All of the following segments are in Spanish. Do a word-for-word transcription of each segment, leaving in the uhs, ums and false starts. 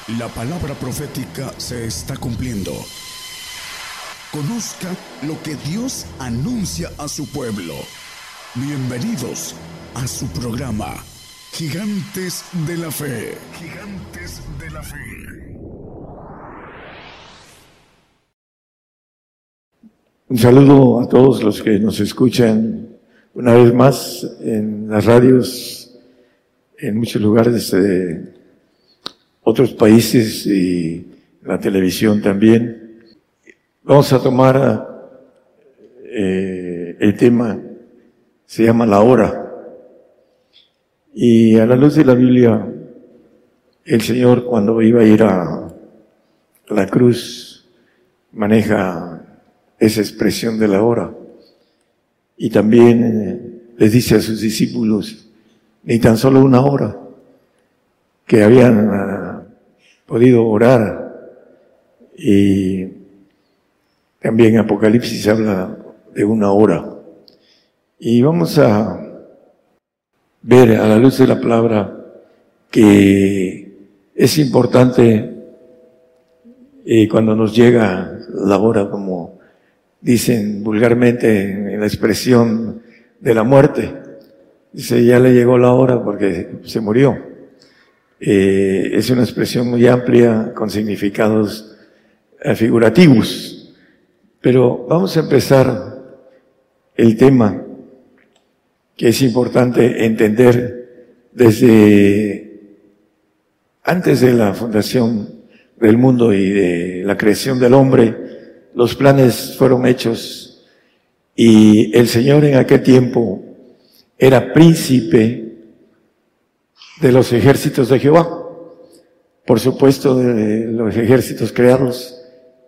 La palabra profética se está cumpliendo. Conozca lo que Dios anuncia a su pueblo. Bienvenidos a su programa, Gigantes de la Fe. Gigantes de la Fe. Un saludo a todos los que nos escuchan una vez más en las radios, en muchos lugares de otros países y la televisión también. Vamos a tomar eh, el tema, se llama la hora. Y a la luz de la Biblia, el Señor cuando iba a ir a la cruz maneja esa expresión de la hora. Y también eh, les dice a sus discípulos, ni tan solo una hora, que habían uh, podido orar. Y también en Apocalipsis habla de una hora. Y vamos a ver a la luz de la palabra que es importante eh, cuando nos llega la hora, como dicen vulgarmente en la expresión de la muerte. Dice, ya le llegó la hora porque se murió. Eh, es una expresión muy amplia con significados eh, figurativos. Pero vamos a empezar el tema que es importante entender desde antes de la fundación del mundo y de la creación del hombre. Los planes fueron hechos y el Señor en aquel tiempo era príncipe de los ejércitos de Jehová, por supuesto de los ejércitos creados,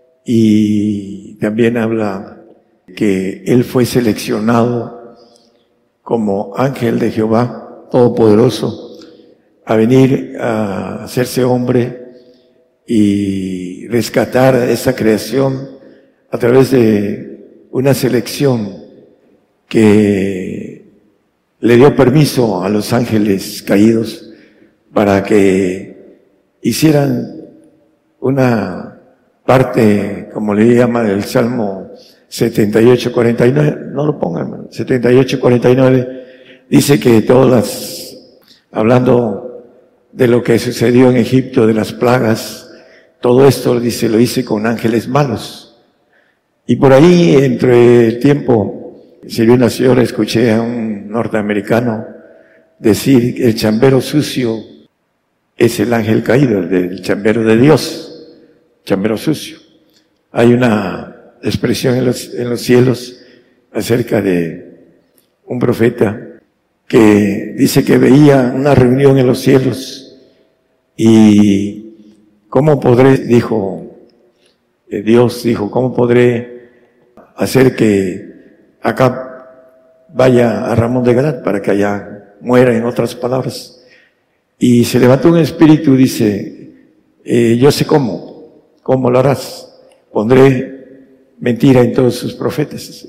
y también habla que Él fue seleccionado como ángel de Jehová Todopoderoso a venir a hacerse hombre y rescatar esa creación a través de una selección que le dio permiso a los ángeles caídos para que hicieran una parte, como le llama el Salmo setenta y ocho, cuarenta y nueve, no lo pongan, setenta y ocho, cuarenta y nueve, dice que todas las, hablando de lo que sucedió en Egipto, de las plagas, todo esto, dice, lo hice con ángeles malos. Y por ahí, entre el tiempo, si bien una señora, escuché a un norteamericano decir que el chambero sucio es el ángel caído, el del chambero de Dios, chambero sucio. Hay una expresión en los, en los cielos acerca de un profeta que dice que veía una reunión en los cielos y ¿cómo podré, dijo eh, Dios, dijo, cómo podré hacer que acá vaya a Ramón de Galat para que allá muera, en otras palabras? Y se levantó un espíritu, dice, eh, yo sé cómo, cómo lo harás, pondré mentira en todos sus profetas.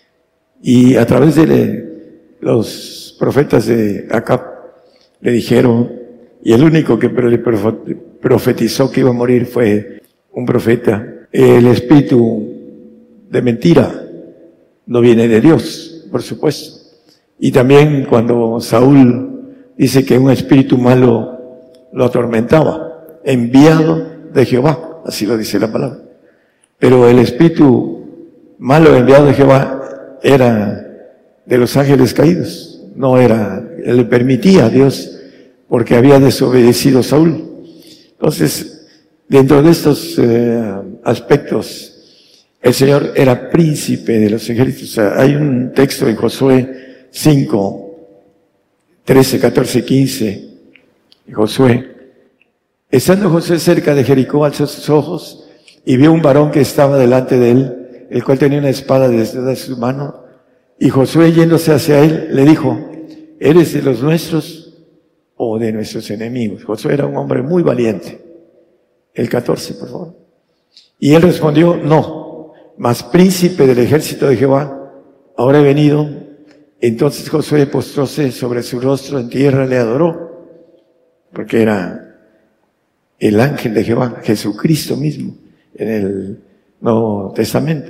Y a través de los profetas de Acab le dijeron, y el único que le profetizó que iba a morir fue un profeta, el espíritu de mentira no viene de Dios, por supuesto. Y también cuando Saúl dice que un espíritu malo lo atormentaba, enviado de Jehová, así lo dice la palabra. Pero el espíritu malo enviado de Jehová era de los ángeles caídos, no era, le permitía a Dios porque había desobedecido Saúl. Entonces, dentro de estos eh, aspectos, el Señor era príncipe de los ejércitos. O sea, hay un texto en Josué cinco, trece, catorce, quince. Josué. Estando Josué cerca de Jericó, alzó sus ojos y vio un varón que estaba delante de él, el cual tenía una espada desde su mano. Y Josué, yéndose hacia él, le dijo, ¿eres de los nuestros o de nuestros enemigos? Josué era un hombre muy valiente. El catorce, por favor. Y él respondió, no. Mas príncipe del ejército de Jehová, ahora he venido. Entonces Josué postróse sobre su rostro en tierra, le adoró, porque era el ángel de Jehová, Jesucristo mismo, en el Nuevo Testamento.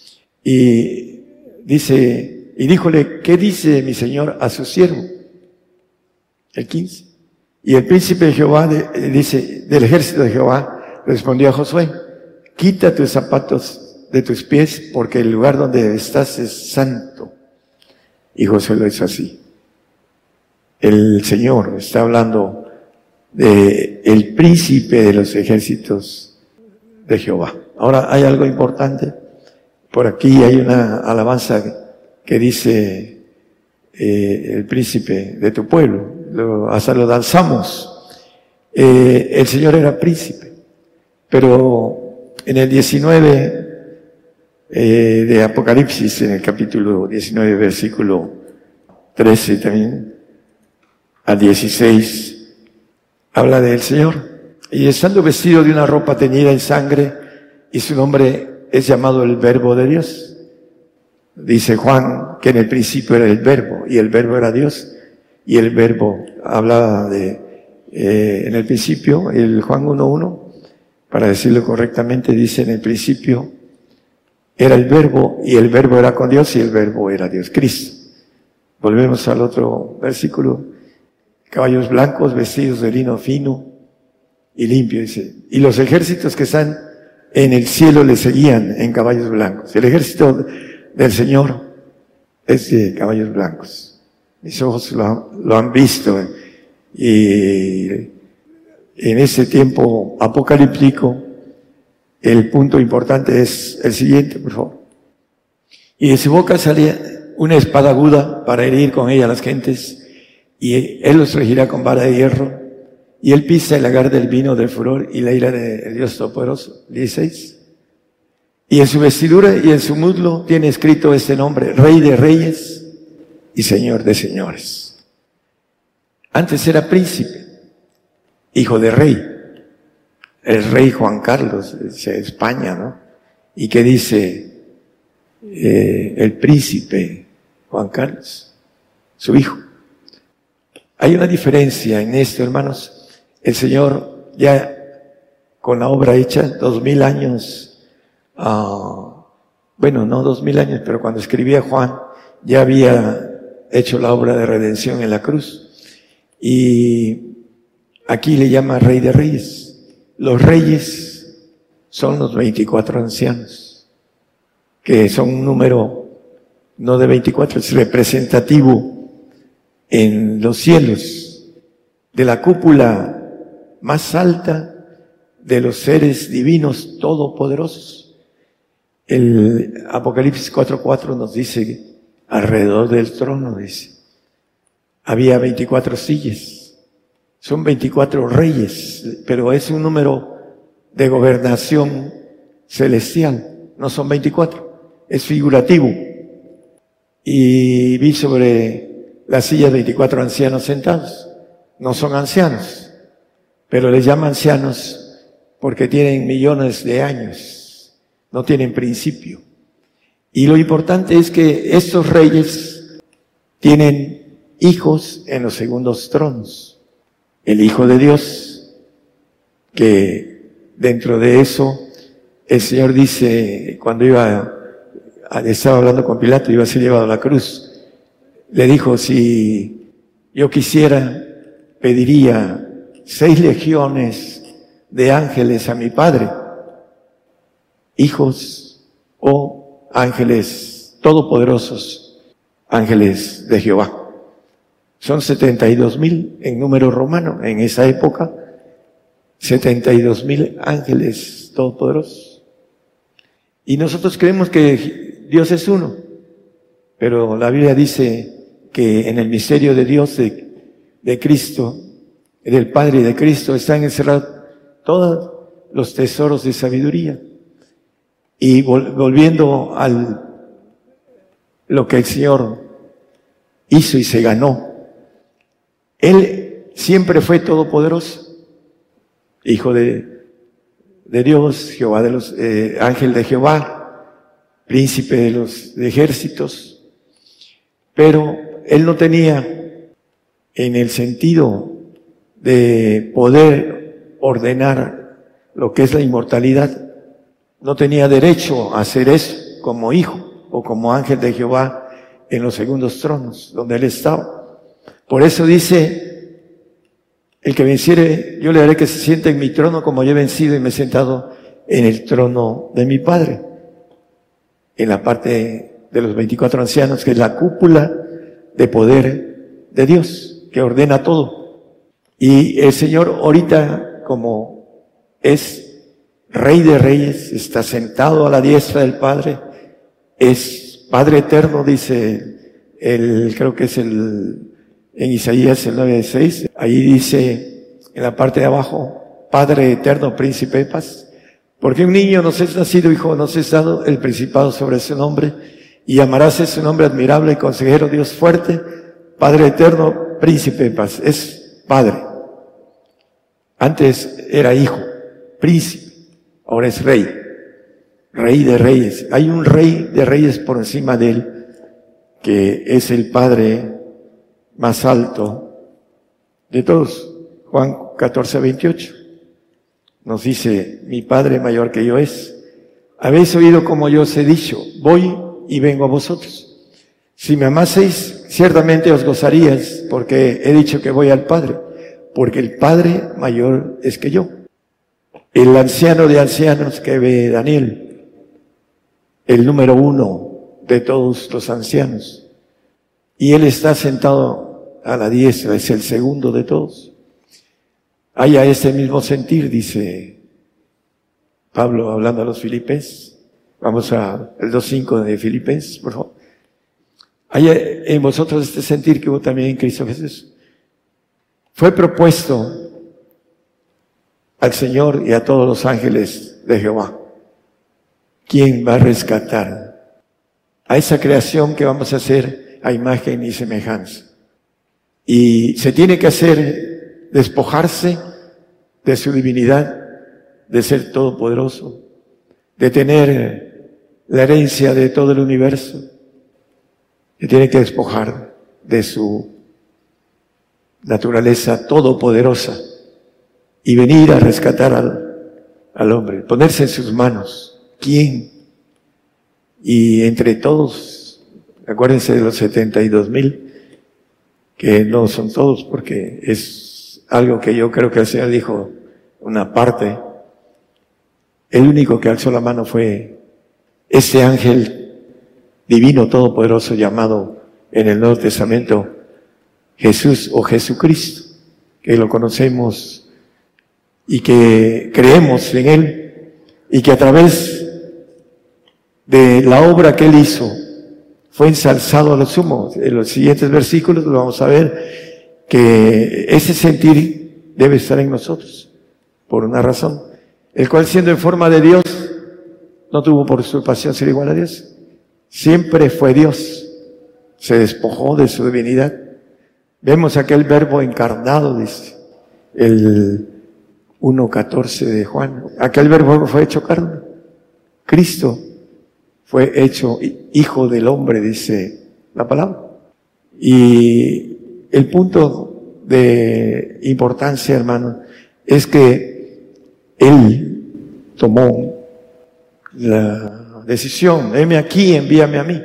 Y dice, y díjole, ¿qué dice mi Señor a su siervo? El quince. Y el príncipe de Jehová, de, dice, del ejército de Jehová, respondió a Josué, quita tus zapatos de tus pies, porque el lugar donde estás es santo. Y Josué lo hizo así. El Señor está hablando de el príncipe de los ejércitos de Jehová. Ahora hay algo importante. Por aquí hay una alabanza que dice eh, el príncipe de tu pueblo. Lo, hasta lo danzamos. Eh, el Señor era príncipe. Pero en el diecinueve eh, de Apocalipsis, en el capítulo diecinueve, versículo trece también, al dieciséis, habla del Señor. Y estando vestido de una ropa teñida en sangre, y su nombre es llamado el Verbo de Dios. Dice Juan que en el principio era el Verbo, y el Verbo era Dios, y el Verbo hablaba de, eh, en el principio, el Juan uno uno, para decirlo correctamente, dice en el principio era el Verbo, y el Verbo era con Dios, y el Verbo era Dios, Cristo. Volvemos al otro versículo. Caballos blancos vestidos de lino fino y limpio, dice. Y los ejércitos que están en el cielo le seguían en caballos blancos. El ejército del Señor es de caballos blancos. Mis ojos lo, lo han visto. Y en ese tiempo apocalíptico, el punto importante es el siguiente, por favor. Y de su boca salía una espada aguda para herir con ella a las gentes, y él los regirá con vara de hierro, y él pisa el lagar del vino del furor y la ira del Dios Todopoderoso. dieciséis. Y en su vestidura y en su muslo tiene escrito este nombre, Rey de Reyes y Señor de Señores. Antes era príncipe, hijo de rey, el rey Juan Carlos de España, ¿no? ¿Y qué dice eh, el príncipe Juan Carlos? Su hijo. Hay una diferencia en esto, hermanos. El Señor ya con la obra hecha, dos mil años, uh, bueno, no dos mil años, pero cuando escribía Juan, ya había hecho la obra de redención en la cruz. Y aquí le llama Rey de Reyes. Los reyes son los veinticuatro ancianos, que son un número no de veinticuatro, es representativo en los cielos, de la cúpula más alta de los seres divinos todopoderosos. El Apocalipsis cuatro cuatro nos dice, alrededor del trono, dice, había veinticuatro sillas. Son veinticuatro reyes, pero es un número de gobernación celestial. No son veinticuatro, es figurativo. Y vi sobre la silla veinticuatro ancianos sentados. No son ancianos, pero les llaman ancianos porque tienen millones de años, no tienen principio. Y lo importante es que estos reyes tienen hijos en los segundos tronos. El Hijo de Dios, que dentro de eso el Señor dice, cuando iba, estaba hablando con Pilato, iba a ser llevado a la cruz, le dijo, si yo quisiera, pediría seis legiones de ángeles a mi Padre, hijos o ángeles todopoderosos, ángeles de Jehová. Son setenta y dos mil en número romano, en esa época, setenta y dos mil ángeles todopoderosos. Y nosotros creemos que Dios es uno, pero la Biblia dice que en el misterio de Dios, de, de Cristo, del Padre y de Cristo, están encerrados todos los tesoros de sabiduría. Y vol, volviendo al lo que el Señor hizo y se ganó, Él siempre fue todopoderoso, Hijo de, de Dios, Jehová de los, eh, ángel de Jehová, príncipe de los de ejércitos, pero Él no tenía en el sentido de poder ordenar lo que es la inmortalidad. No tenía derecho a hacer eso como hijo o como ángel de Jehová en los segundos tronos donde él estaba. Por eso dice, el que venciere, yo le haré que se siente en mi trono como yo he vencido y me he sentado en el trono de mi Padre. En la parte de los veinticuatro ancianos, que es la cúpula de poder de Dios, que ordena todo. Y el Señor ahorita, como es Rey de Reyes, está sentado a la diestra del Padre, es Padre eterno, dice el, creo que es el, en Isaías el nueve seis, ahí dice en la parte de abajo, Padre eterno, príncipe de paz, porque un niño nos es nacido, hijo nos es dado, el principado sobre su nombre, y llamarás su nombre admirable, consejero, Dios fuerte, Padre eterno, príncipe de paz. Es Padre. Antes era hijo, príncipe. Ahora es rey, rey de reyes. Hay un rey de reyes por encima de él, que es el Padre más alto de todos. Juan catorce veintiocho nos dice, mi Padre mayor que yo es. Habéis oído como yo os he dicho, voy y vengo a vosotros. Si me amaseis, ciertamente os gozaríais, porque he dicho que voy al Padre, porque el Padre mayor es que yo. El anciano de ancianos que ve Daniel, el número uno de todos los ancianos, y él está sentado a la diestra, es el segundo de todos. Haya ese mismo sentir, dice Pablo hablando a los Filipenses. Vamos a el dos cinco de Filipenses, por favor. Haya en vosotros este sentir que hubo también en Cristo Jesús. Fue propuesto al Señor y a todos los ángeles de Jehová. ¿Quién va a rescatar a esa creación que vamos a hacer a imagen y semejanza? Y se tiene que hacer, despojarse de su divinidad, de ser todopoderoso, de tener la herencia de todo el universo. Se tiene que despojar de su naturaleza todopoderosa y venir a rescatar al, al hombre, ponerse en sus manos. ¿Quién? Y entre todos, acuérdense de los setenta y dos mil, que no son todos, porque es algo que yo creo que el Señor dijo, una parte. El único que alzó la mano fue este ángel divino todopoderoso llamado en el Nuevo Testamento Jesús o Jesucristo, que lo conocemos y que creemos en Él, y que a través de la obra que Él hizo fue ensalzado a lo sumo. En los siguientes versículos lo vamos a ver, que ese sentir debe estar en nosotros, por una razón, el cual siendo en forma de Dios, no tuvo por usurpación ser igual a Dios. Siempre fue Dios, se despojó de su divinidad. Vemos aquel verbo encarnado, dice el uno catorce de Juan. Aquel verbo fue hecho carne. Cristo fue hecho hijo del hombre, dice la palabra. Y el punto de importancia, hermano, es que Él tomó la decisión, heme aquí, envíame a mí.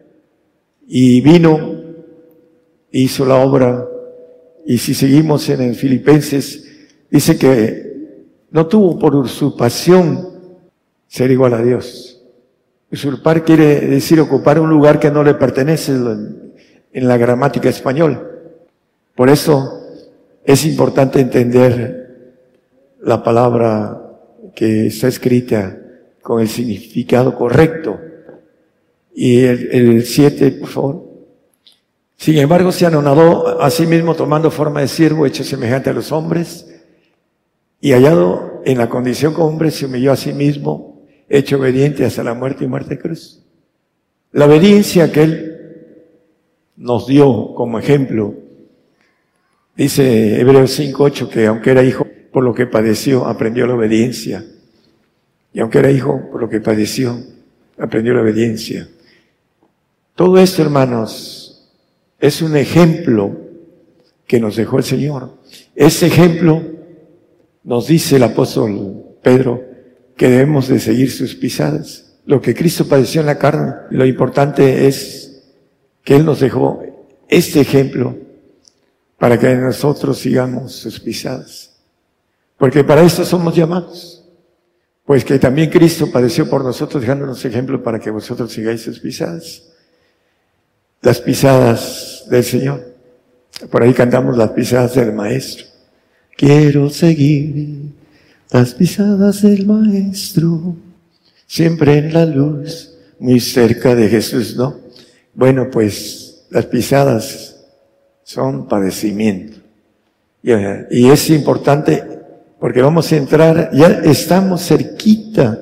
Y vino, hizo la obra, y si seguimos en el Filipenses, dice que no tuvo por usurpación ser igual a Dios. Usurpar quiere decir ocupar un lugar que no le pertenece en la gramática española. Por eso es importante entender la palabra que está escrita con el significado correcto. Y el, el siete, por favor. Sin embargo, se anonadó a sí mismo tomando forma de siervo, hecho semejante a los hombres, y hallado en la condición como hombre, se humilló a sí mismo, hecho obediente hasta la muerte y muerte de cruz. La obediencia que Él nos dio como ejemplo, dice Hebreos cinco ocho, que aunque era hijo, por lo que padeció, aprendió la obediencia. Y aunque era hijo, por lo que padeció, aprendió la obediencia. Todo esto, hermanos, es un ejemplo que nos dejó el Señor. Ese ejemplo nos dice el apóstol Pedro que debemos de seguir sus pisadas. Lo que Cristo padeció en la carne, lo importante es que Él nos dejó este ejemplo para que nosotros sigamos sus pisadas. Porque para esto somos llamados. Pues que también Cristo padeció por nosotros, dejándonos ejemplo para que vosotros sigáis sus pisadas. Las pisadas del Señor. Por ahí cantamos las pisadas del Maestro. Quiero seguir las pisadas del Maestro, siempre en la luz, muy cerca de Jesús, ¿no? Bueno, pues las pisadas son padecimiento. Y, y es importante porque vamos a entrar, ya estamos cerquita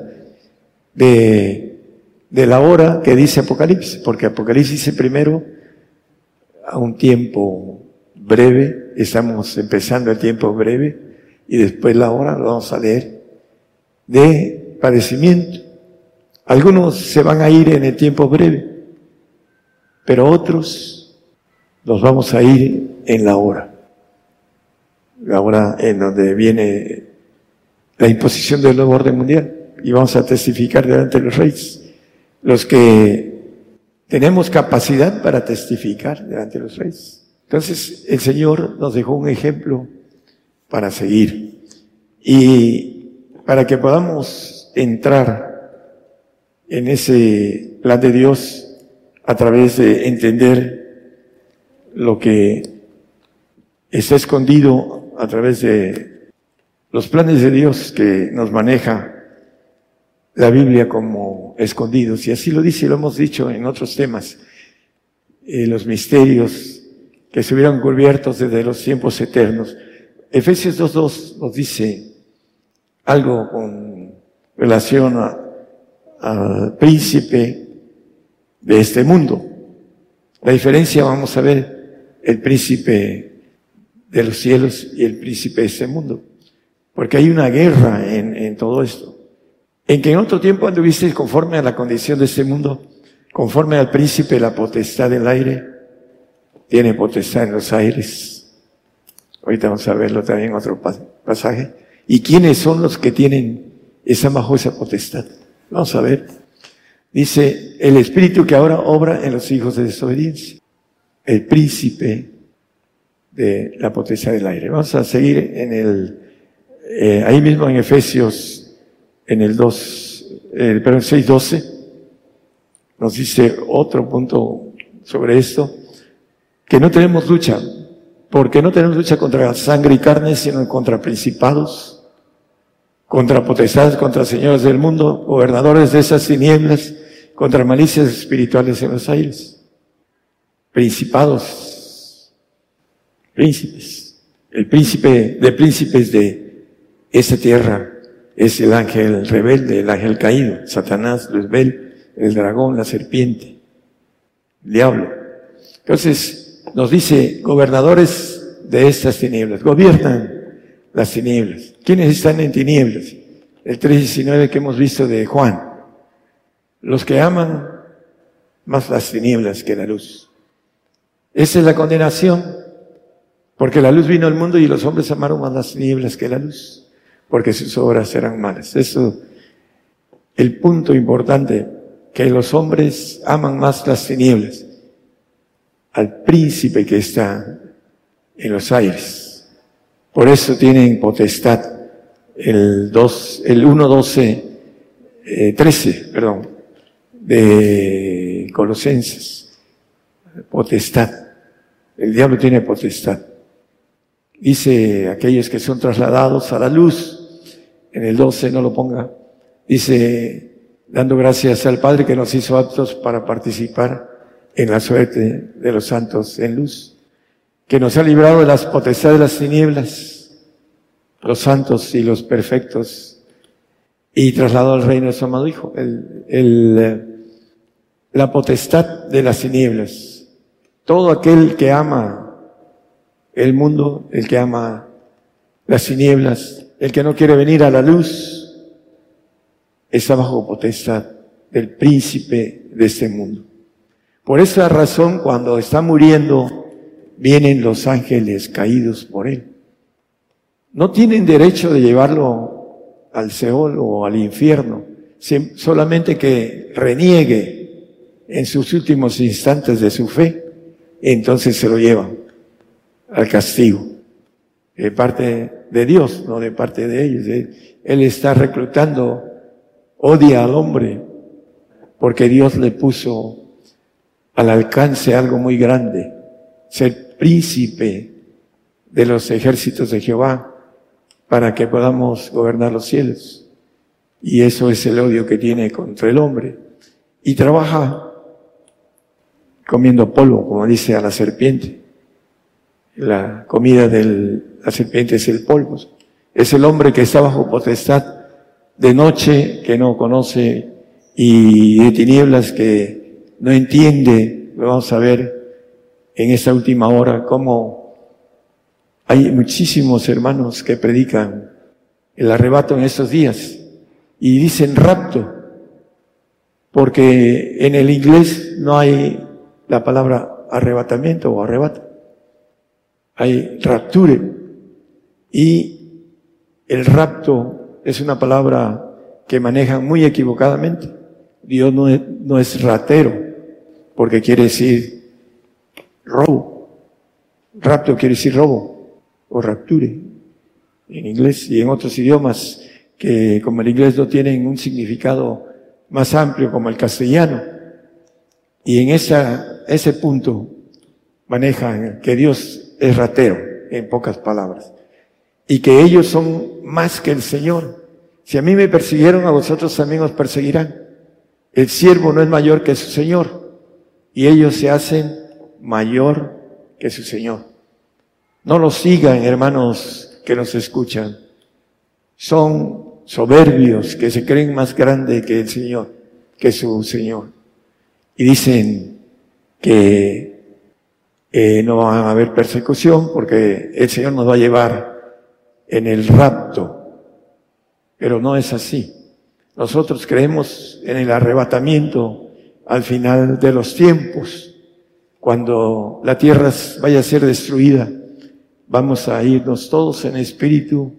de, de la hora que dice Apocalipsis, porque Apocalipsis dice primero a un tiempo breve, estamos empezando el tiempo breve, y después la hora, lo vamos a leer, de padecimiento. Algunos se van a ir en el tiempo breve, pero otros nos vamos a ir en la hora. La hora en donde viene la imposición del nuevo orden mundial, y vamos a testificar delante de los reyes. Los que tenemos capacidad para testificar delante de los reyes. Entonces, el Señor nos dejó un ejemplo para seguir. Y para que podamos entrar en ese plan de Dios a través de entender lo que está escondido a través de los planes de Dios que nos maneja la Biblia como escondidos. Y así lo dice y lo hemos dicho en otros temas. Eh, los misterios que estuvieron cubiertos desde los tiempos eternos. Efesios dos dos nos dice algo con relación al príncipe de este mundo. La diferencia, vamos a ver, el príncipe de los cielos y el príncipe de este mundo. Porque hay una guerra en, en todo esto. En que en otro tiempo anduviste conforme a la condición de este mundo, conforme al príncipe de la potestad del aire, tiene potestad en los aires. Ahorita vamos a verlo también en otro pasaje. ¿Y quiénes son los que tienen esa bajo esa potestad? Vamos a ver. Dice, el espíritu que ahora obra en los hijos de desobediencia. El príncipe de la potestad del aire. Vamos a seguir en el, eh, ahí mismo en Efesios, en el dos, eh, perdón, seis doce, nos dice otro punto sobre esto. Que no tenemos lucha, porque no tenemos lucha contra sangre y carne, sino contra principados, contra potestades, contra señores del mundo, gobernadores de esas tinieblas, contra malicias espirituales en los aires. Principados, príncipes. El príncipe de príncipes de esa tierra es el ángel rebelde, el ángel caído, Satanás, Luzbel, el dragón, la serpiente, el diablo. Entonces, nos dice, gobernadores de estas tinieblas, gobiernan las tinieblas. ¿Quiénes están en tinieblas? El tres diecinueve que hemos visto de Juan. Los que aman más las tinieblas que la luz. Esa es la condenación, porque la luz vino al mundo y los hombres amaron más las tinieblas que la luz, porque sus obras eran malas. Eso, el punto importante, que los hombres aman más las tinieblas al príncipe que está en los aires. Por eso tienen potestad. El dos, el uno doce, eh, trece, perdón, de Colosenses. Potestad. El diablo tiene potestad. Dice aquellos que son trasladados a la luz. En el doce no lo ponga. Dice, dando gracias al Padre que nos hizo aptos para participar en la suerte de los santos en luz, que nos ha librado de las potestades de las tinieblas, los santos y los perfectos, y trasladado al reino de su amado Hijo, el, el, la potestad de las tinieblas. Todo aquel que ama el mundo, el que ama las tinieblas, el que no quiere venir a la luz, está bajo potestad del príncipe de este mundo. Por esa razón, cuando está muriendo, vienen los ángeles caídos por él. no tienen derecho de llevarlo al Seol o al infierno, solamente que reniegue en sus últimos instantes de su fe, entonces se lo llevan al castigo, de parte de Dios, no de parte de ellos. Él está reclutando, odia al hombre, porque Dios le puso al alcance algo muy grande, ser príncipe de los ejércitos de Jehová, para que podamos gobernar los cielos. Y eso es el odio que tiene contra el hombre. Y trabaja comiendo polvo, como dice a la serpiente. La comida de la serpiente es el polvo. Es el hombre que está bajo potestad de noche, que no conoce, y de tinieblas que no entiende. Lo vamos a ver en esta última hora, cómo hay muchísimos hermanos que predican el arrebato en estos días y dicen rapto, porque en el inglés no hay la palabra arrebatamiento o arrebato. Hay rapture, y el rapto es una palabra que manejan muy equivocadamente. Dios no es, no es ratero, porque quiere decir robo. Rapto quiere decir robo, o rapture, en inglés y en otros idiomas, que como el inglés no tienen un significado más amplio como el castellano. Y en esa, ese punto manejan que Dios es ratero, en pocas palabras, y que ellos son más que el Señor. Si a mí me persiguieron, a vosotros también os perseguirán. El siervo no es mayor que su Señor, y ellos se hacen mayor que su Señor. No los sigan, hermanos que nos escuchan. Son soberbios, que se creen más grandes que el Señor, que su Señor. Y dicen que eh, no va a haber persecución porque el Señor nos va a llevar en el rapto. Pero no es así. Nosotros creemos en el arrebatamiento al final de los tiempos, cuando la tierra vaya a ser destruida. Vamos a irnos todos en espíritu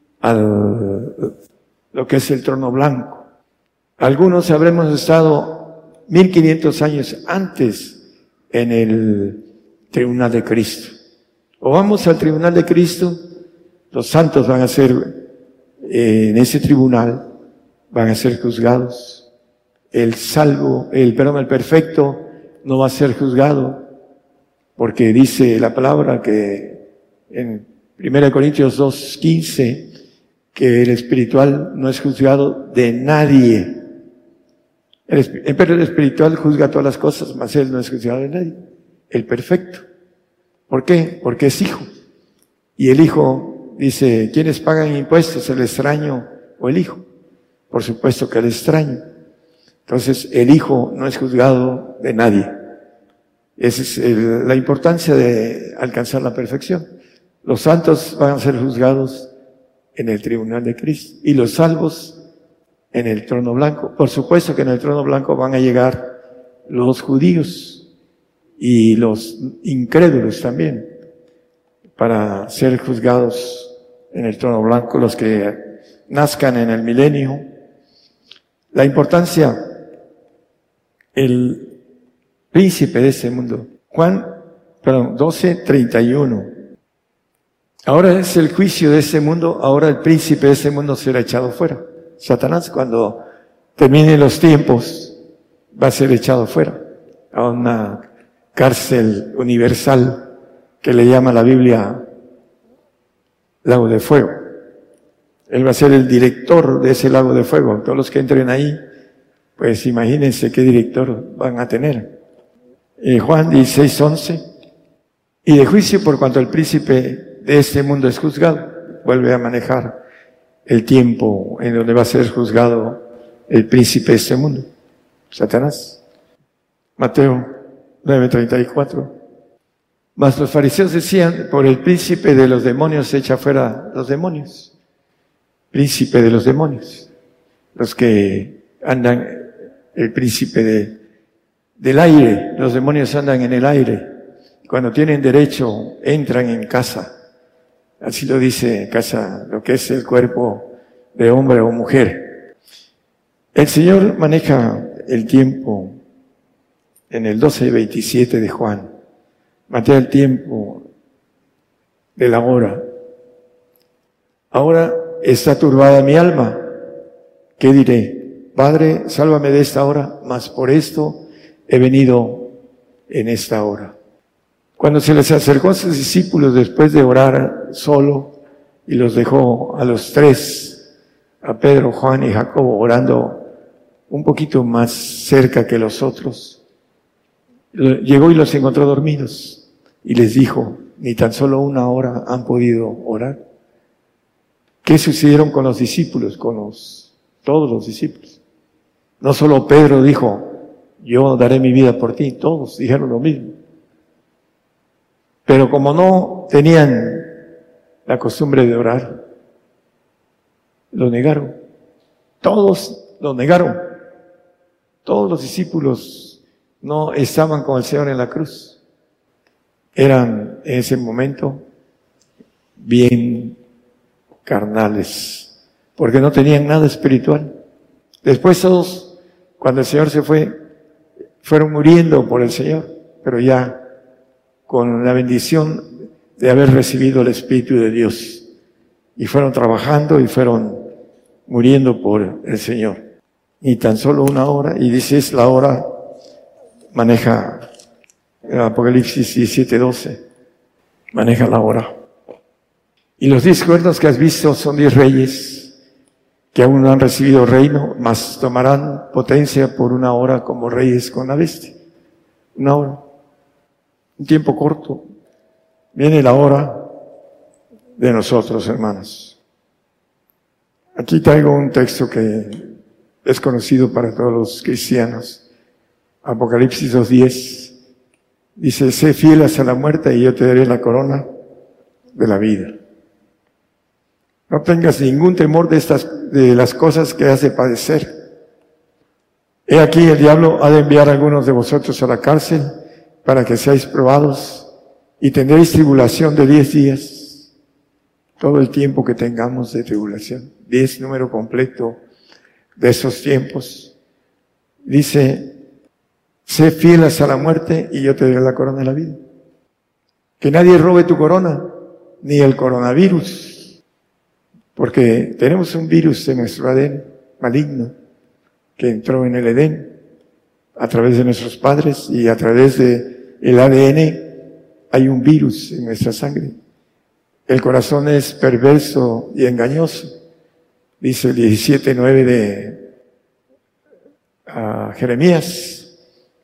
al lo que es el trono blanco. Algunos habremos estado mil quinientos años antes en el tribunal de Cristo. O vamos al tribunal de Cristo, los santos van a ser eh, en ese tribunal, van a ser juzgados. El salvo, el perdón, el perfecto no va a ser juzgado, porque dice la palabra que en primera Corintios dos quince, que el espiritual no es juzgado de nadie. El, pero el espiritual juzga todas las cosas, mas él no es juzgado de nadie. El perfecto. ¿Por qué? Porque es hijo. Y el hijo dice, ¿quiénes pagan impuestos? ¿El extraño o el hijo? Por supuesto que el extraño. Entonces, el hijo no es juzgado de nadie. Esa es el, la importancia de alcanzar la perfección. Los santos van a ser juzgados en el tribunal de Cristo y los salvos en el trono blanco. Por supuesto que en el trono blanco van a llegar los judíos y los incrédulos también para ser juzgados en el trono blanco, los que nazcan en el milenio. La importancia, el príncipe de ese mundo. Juan, perdón, doce treinta y uno. Ahora es el juicio de ese mundo, ahora el príncipe de ese mundo será echado fuera. Satanás, cuando terminen los tiempos, va a ser echado fuera a una cárcel universal que le llama la Biblia lago de fuego. Él va a ser el director de ese lago de fuego. Todos los que entren ahí, pues imagínense qué director van a tener. Eh, Juan dieciséis once. Y de juicio por cuanto el príncipe de este mundo es juzgado. Vuelve a manejar el tiempo en donde va a ser juzgado el príncipe de este mundo, Satanás. Mateo nueve treinta y cuatro. Mas los fariseos decían, por el príncipe de los demonios se echa fuera los demonios. Príncipe de los demonios. Los que andan, el príncipe de, del aire. Los demonios andan en el aire. Cuando tienen derecho, entran en casa Así lo dice Casa, lo que es el cuerpo de hombre o mujer. El Señor maneja el tiempo en el doce veintisiete de Juan. Matea el tiempo de la hora. Ahora está turbada mi alma. ¿Qué diré? Padre, sálvame de esta hora, mas por esto he venido en esta hora. Cuando se les acercó a sus discípulos después de orar solo y los dejó a los tres, a Pedro, Juan y Jacobo, orando un poquito más cerca que los otros, llegó y los encontró dormidos y les dijo, ni tan solo una hora han podido orar. ¿Qué sucedieron con los discípulos, con los, todos los discípulos? No solo Pedro dijo, yo daré mi vida por ti, todos dijeron lo mismo. Pero como no tenían la costumbre de orar, lo negaron. Todos lo negaron. Todos los discípulos no estaban con el Señor en la cruz. Eran en ese momento bien carnales, porque no tenían nada espiritual. Después todos, cuando el Señor se fue, fueron muriendo por el Señor, pero ya con la bendición de haber recibido el Espíritu de Dios. Y fueron trabajando y fueron muriendo por el Señor. Y tan solo una hora, y dice es la hora, maneja Apocalipsis diecisiete doce, maneja la hora. Y los diez cuernos que has visto son diez reyes que aún no han recibido reino, mas tomarán potencia por una hora como reyes con la bestia. Una hora. Un tiempo corto. Viene la hora de nosotros, hermanos. Aquí traigo un texto que es conocido para todos los cristianos. Apocalipsis dos diez. Dice, sé fiel hasta la muerte y yo te daré la corona de la vida. No tengas ningún temor de estas, de las cosas que has de padecer. He aquí el diablo ha de enviar a algunos de vosotros a la cárcel para que seáis probados y tendréis tribulación de diez días. Todo el tiempo que tengamos de tribulación. Diez, número completo de esos tiempos. Dice, sé fiel hasta la muerte y yo te daré la corona de la vida. Que nadie robe tu corona, ni el coronavirus. Porque tenemos un virus en nuestro A D N maligno que entró en el Edén a través de nuestros padres y a través de el A D N hay un virus en nuestra sangre. El corazón es perverso y engañoso. Dice el diecisiete nueve de uh, Jeremías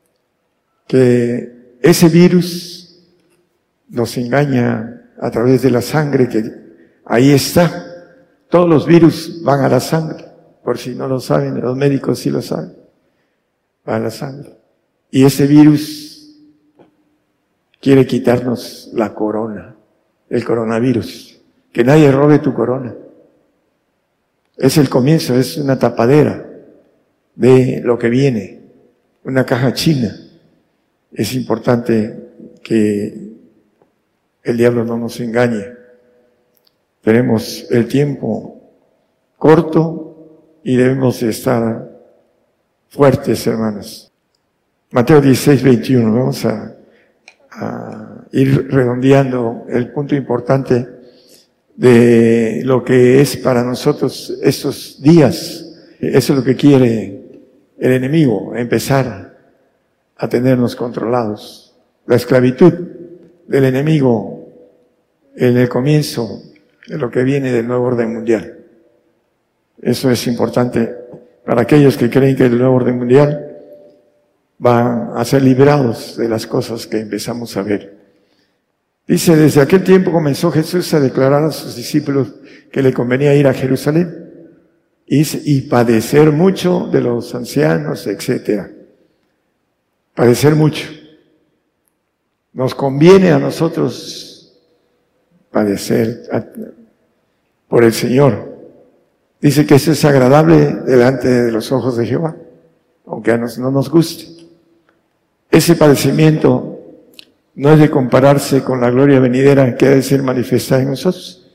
que ese virus nos engaña a través de la sangre que ahí está. Todos los virus van a la sangre, por si no lo saben, los médicos sí lo saben, van a la sangre. Y ese virus quiere quitarnos la corona, el coronavirus, que nadie robe tu corona. Es el comienzo, es una tapadera de lo que viene, una caja china. Es importante que el diablo no nos engañe. Tenemos el tiempo corto y debemos estar fuertes, hermanos. Mateo dieciséis veintiuno, vamos a, a ir redondeando el punto importante de lo que es para nosotros estos días. Eso es lo que quiere el enemigo, empezar a tenernos controlados. La esclavitud del enemigo en el comienzo de lo que viene del nuevo orden mundial. Eso es importante para aquellos que creen que el nuevo orden mundial va a ser liberados de las cosas que empezamos a ver. Dice, desde aquel tiempo comenzó Jesús a declarar a sus discípulos que le convenía ir a Jerusalén y, y padecer mucho de los ancianos, etcétera. Padecer mucho. Nos conviene a nosotros padecer por el Señor. Dice que eso es agradable delante de los ojos de Jehová, aunque a nos no nos guste. Ese padecimiento no es de compararse con la gloria venidera que ha de ser manifestada en nosotros.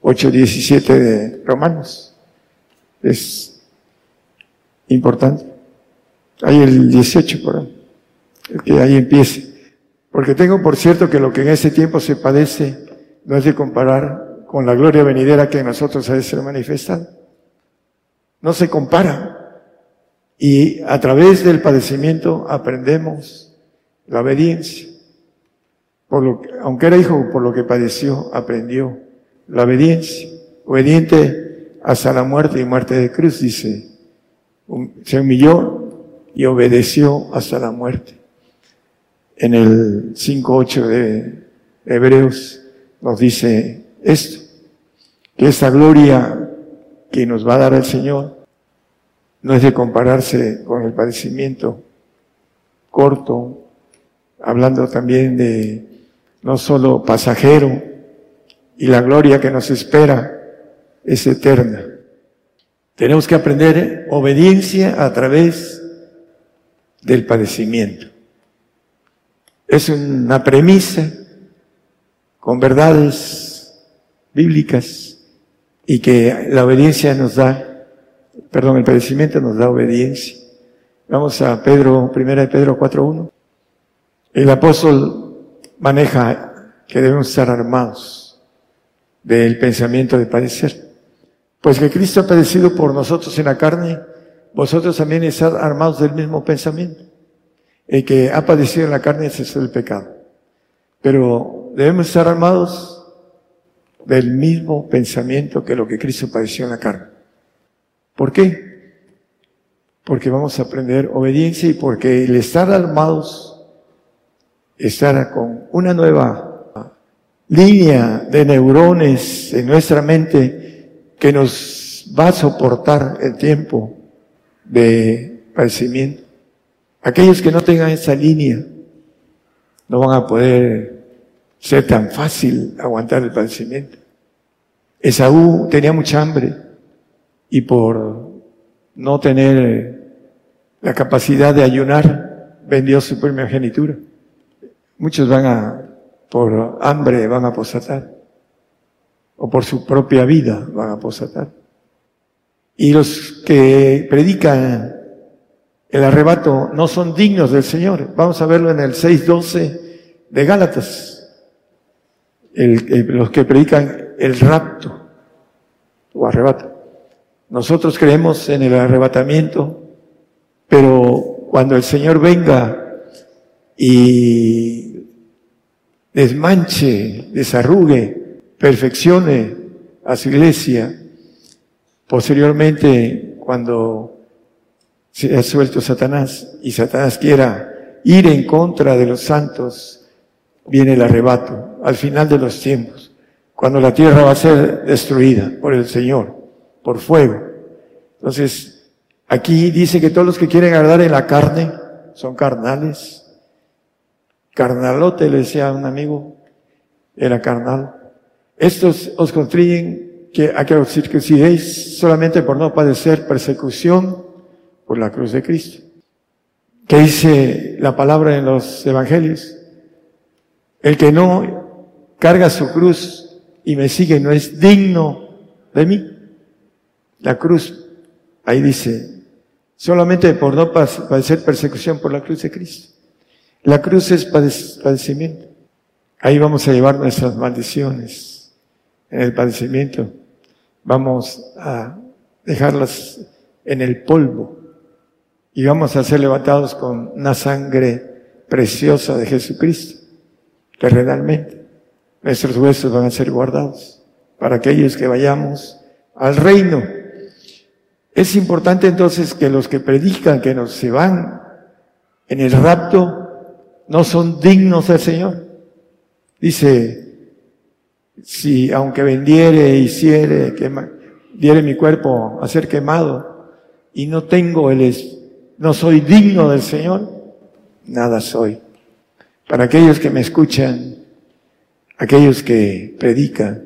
ocho diecisiete de Romanos. Es importante. Hay el dieciocho por ahí, el que ahí empiece. Porque tengo por cierto que lo que en ese tiempo se padece no es de comparar con la gloria venidera que en nosotros ha de ser manifestada. No se compara. Y a través del padecimiento aprendemos la obediencia. Por lo que, aunque era hijo, por lo que padeció, aprendió la obediencia. Obediente hasta la muerte y muerte de cruz, dice. Se humilló y obedeció hasta la muerte. En el cinco ocho de Hebreos nos dice esto, que esta gloria que nos va a dar el Señor no es de compararse con el padecimiento corto, hablando también de no solo pasajero, y la gloria que nos espera es eterna. Tenemos que aprender obediencia a través del padecimiento. Es una premisa con verdades bíblicas y que la obediencia nos da Perdón, el padecimiento nos da obediencia. Vamos a Pedro, primera de Pedro cuatro uno. El apóstol maneja que debemos estar armados del pensamiento de padecer. Pues que Cristo ha padecido por nosotros en la carne, vosotros también estar armados del mismo pensamiento. El que ha padecido en la carne ese es el pecado. Pero debemos estar armados del mismo pensamiento que lo que Cristo padeció en la carne. ¿Por qué? Porque vamos a aprender obediencia y porque el estar armados, estar con una nueva línea de neurones en nuestra mente que nos va a soportar el tiempo de padecimiento. Aquellos que no tengan esa línea no van a poder ser tan fácil aguantar el padecimiento. Esaú tenía mucha hambre y por no tener la capacidad de ayunar, vendió su primogenitura. Muchos van a, por hambre, van a apostatar. O por su propia vida van a apostatar. Y los que predican el arrebato no son dignos del Señor. Vamos a verlo en el seis doce de Gálatas. El, el, los que predican el rapto o arrebato. Nosotros creemos en el arrebatamiento, pero cuando el Señor venga y desmanche, desarrugue, perfeccione a su iglesia, posteriormente cuando se ha suelto Satanás y Satanás quiera ir en contra de los santos, viene el arrebato al final de los tiempos, cuando la tierra va a ser destruida por el Señor, por fuego. Entonces, aquí dice que todos los que quieren agradar en la carne son carnales. Carnalote, le decía a un amigo, era carnal. Estos os constriñen que, a que os circuncidéis solamente por no padecer persecución por la cruz de Cristo. ¿Qué dice la palabra en los evangelios? El que no carga su cruz y me sigue no es digno de mí. La cruz, ahí dice, solamente por no padecer persecución por la cruz de Cristo. La cruz es padecimiento. Ahí vamos a llevar nuestras maldiciones en el padecimiento. Vamos a dejarlas en el polvo y vamos a ser levantados con una sangre preciosa de Jesucristo, terrenalmente. Nuestros huesos van a ser guardados para aquellos que vayamos al reino. Es importante entonces que los que predican que nos se van en el rapto no son dignos del Señor. Dice, si aunque vendiere, hiciere, quema, diere mi cuerpo a ser quemado y no tengo el, no soy digno del Señor, nada soy. Para aquellos que me escuchan, aquellos que predican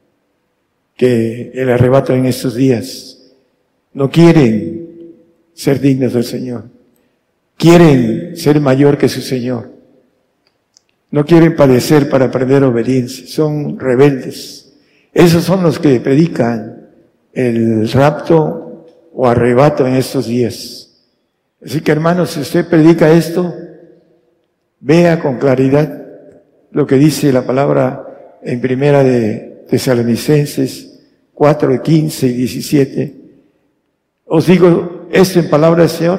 que el arrebato en estos días no quieren ser dignos del Señor, quieren ser mayor que su Señor. No quieren padecer para aprender obediencia, son rebeldes. Esos son los que predican el rapto o arrebato en estos días. Así que, hermanos, si usted predica esto, vea con claridad lo que dice la palabra en primera de Tesalonicenses cuatro, quince y diecisiete. Os digo esto en palabra del Señor,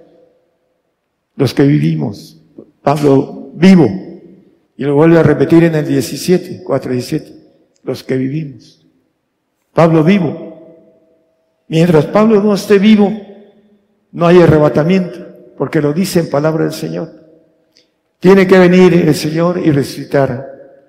los que vivimos. Pablo, vivo. Y lo vuelve a repetir en el diecisiete, cuatro, diecisiete. Los que vivimos. Pablo, vivo. Mientras Pablo no esté vivo, no hay arrebatamiento, porque lo dice en palabra del Señor. Tiene que venir el Señor y resucitar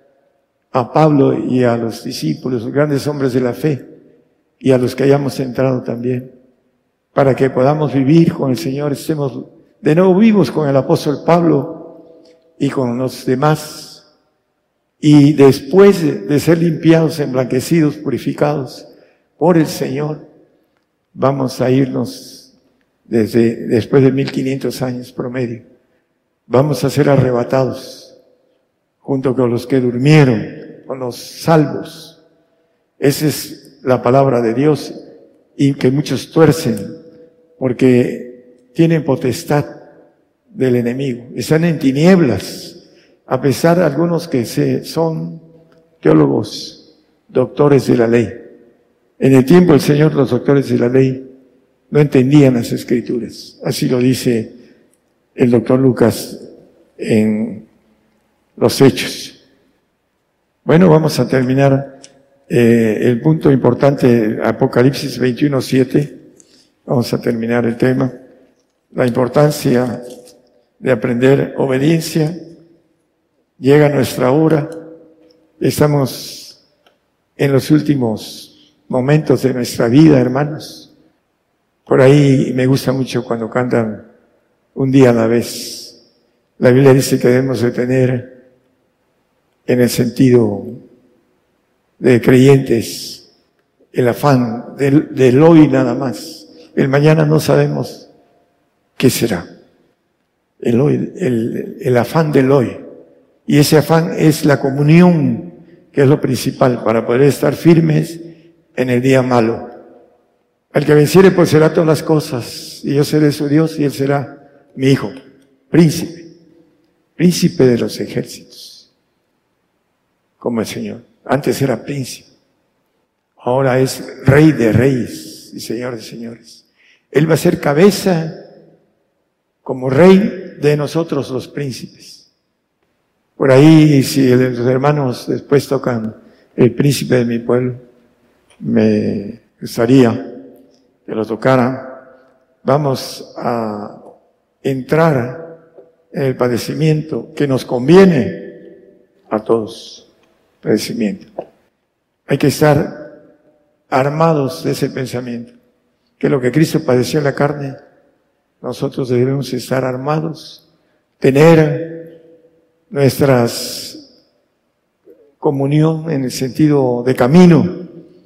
a Pablo y a los discípulos, los grandes hombres de la fe, y a los que hayamos entrado también, para que podamos vivir con el Señor, estemos de nuevo vivos con el apóstol Pablo y con los demás. Y después de ser limpiados, emblanquecidos, purificados por el Señor, vamos a irnos desde después de mil quinientos años promedio. Vamos a ser arrebatados junto con los que durmieron, con los salvos. Esa es la palabra de Dios, y que muchos tuercen porque tienen potestad del enemigo. Están en tinieblas, a pesar de algunos que se, son teólogos, doctores de la ley. En el tiempo del Señor, los doctores de la ley no entendían las Escrituras. Así lo dice el doctor Lucas en los Hechos. Bueno, vamos a terminar eh, el punto importante, Apocalipsis veintiuno, siete. Vamos a terminar el tema. La importancia de aprender obediencia. Llega nuestra hora. Estamos en los últimos momentos de nuestra vida, hermanos. Por ahí me gusta mucho cuando cantan un día a la vez. La Biblia dice que debemos de tener, en el sentido de creyentes, el afán del, del hoy nada más. El mañana no sabemos qué será. El hoy, el, el afán del hoy. Y ese afán es la comunión, que es lo principal para poder estar firmes en el día malo. Al que venciere poseerá todas las cosas, y yo seré su Dios y él será mi hijo, príncipe, príncipe de los ejércitos, como el Señor. Antes era príncipe, ahora es rey de reyes y señor de señores. Él va a ser cabeza como rey de nosotros los príncipes. Por ahí, si los hermanos después tocan el príncipe de mi pueblo, me gustaría que lo tocaran. Vamos a entrar en el padecimiento que nos conviene a todos. Padecimiento. Hay que estar armados de ese pensamiento, que lo que Cristo padeció en la carne, nosotros debemos estar armados, tener nuestras comunión en el sentido de camino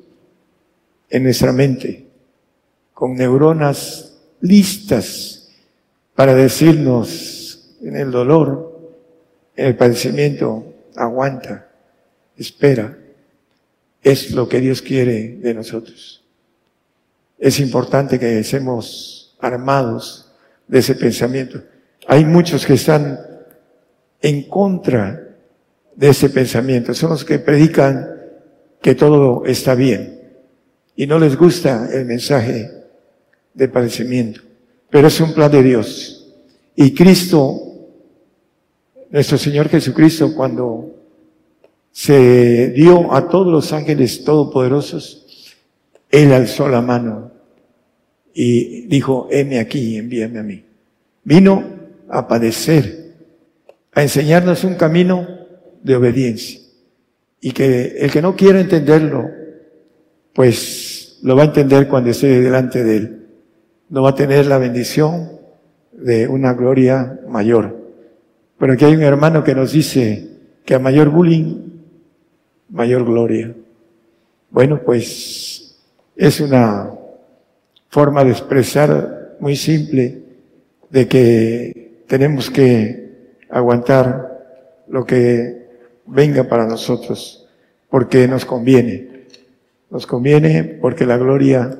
en nuestra mente, con neuronas listas para decirnos en el dolor, en el padecimiento, aguanta, espera. Es lo que Dios quiere de nosotros. Es importante que estemos armados de ese pensamiento. Hay muchos que están en contra de ese pensamiento. Son los que predican que todo está bien y no les gusta el mensaje de padecimiento. Pero es un plan de Dios. Y Cristo, nuestro Señor Jesucristo, cuando se dio a todos los ángeles todopoderosos, Él alzó la mano y dijo, heme aquí, envíame a mí. Vino a padecer, a enseñarnos un camino de obediencia. Y que el que no quiera entenderlo, pues lo va a entender cuando esté delante de Él. No va a tener la bendición de una gloria mayor. Pero aquí hay un hermano que nos dice que a mayor bullying, mayor gloria. Bueno, pues es una forma de expresar muy simple de que tenemos que aguantar lo que venga para nosotros, porque nos conviene. Nos conviene porque la gloria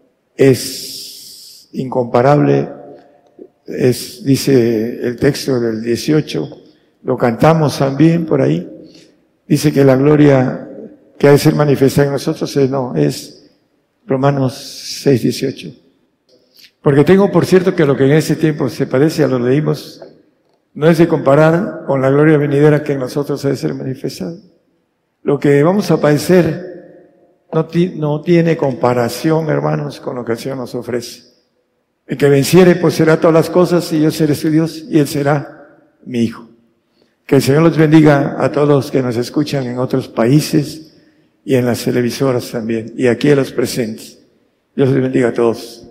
es incomparable. Es, dice el texto del dieciocho, lo cantamos también por ahí. Dice que la gloria que ha de ser manifestada en nosotros es, no, es Romanos seis, dieciocho. Porque tengo por cierto que lo que en ese tiempo se parece a lo leímos, no es de comparar con la gloria venidera que en nosotros ha de ser manifestada. Lo que vamos a padecer no, ti, no tiene comparación, hermanos, con lo que el Señor nos ofrece. El que venciere poseerá todas las cosas y yo seré su Dios y Él será mi Hijo. Que el Señor los bendiga a todos los que nos escuchan en otros países y en las televisoras también, y aquí a los presentes. Dios les bendiga a todos.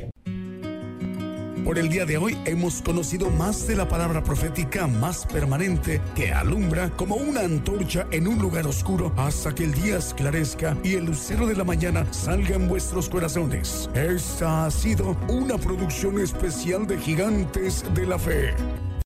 Por el día de hoy hemos conocido más de la palabra profética más permanente que alumbra como una antorcha en un lugar oscuro hasta que el día esclarezca y el lucero de la mañana salga en vuestros corazones. Esta ha sido una producción especial de Gigantes de la Fe.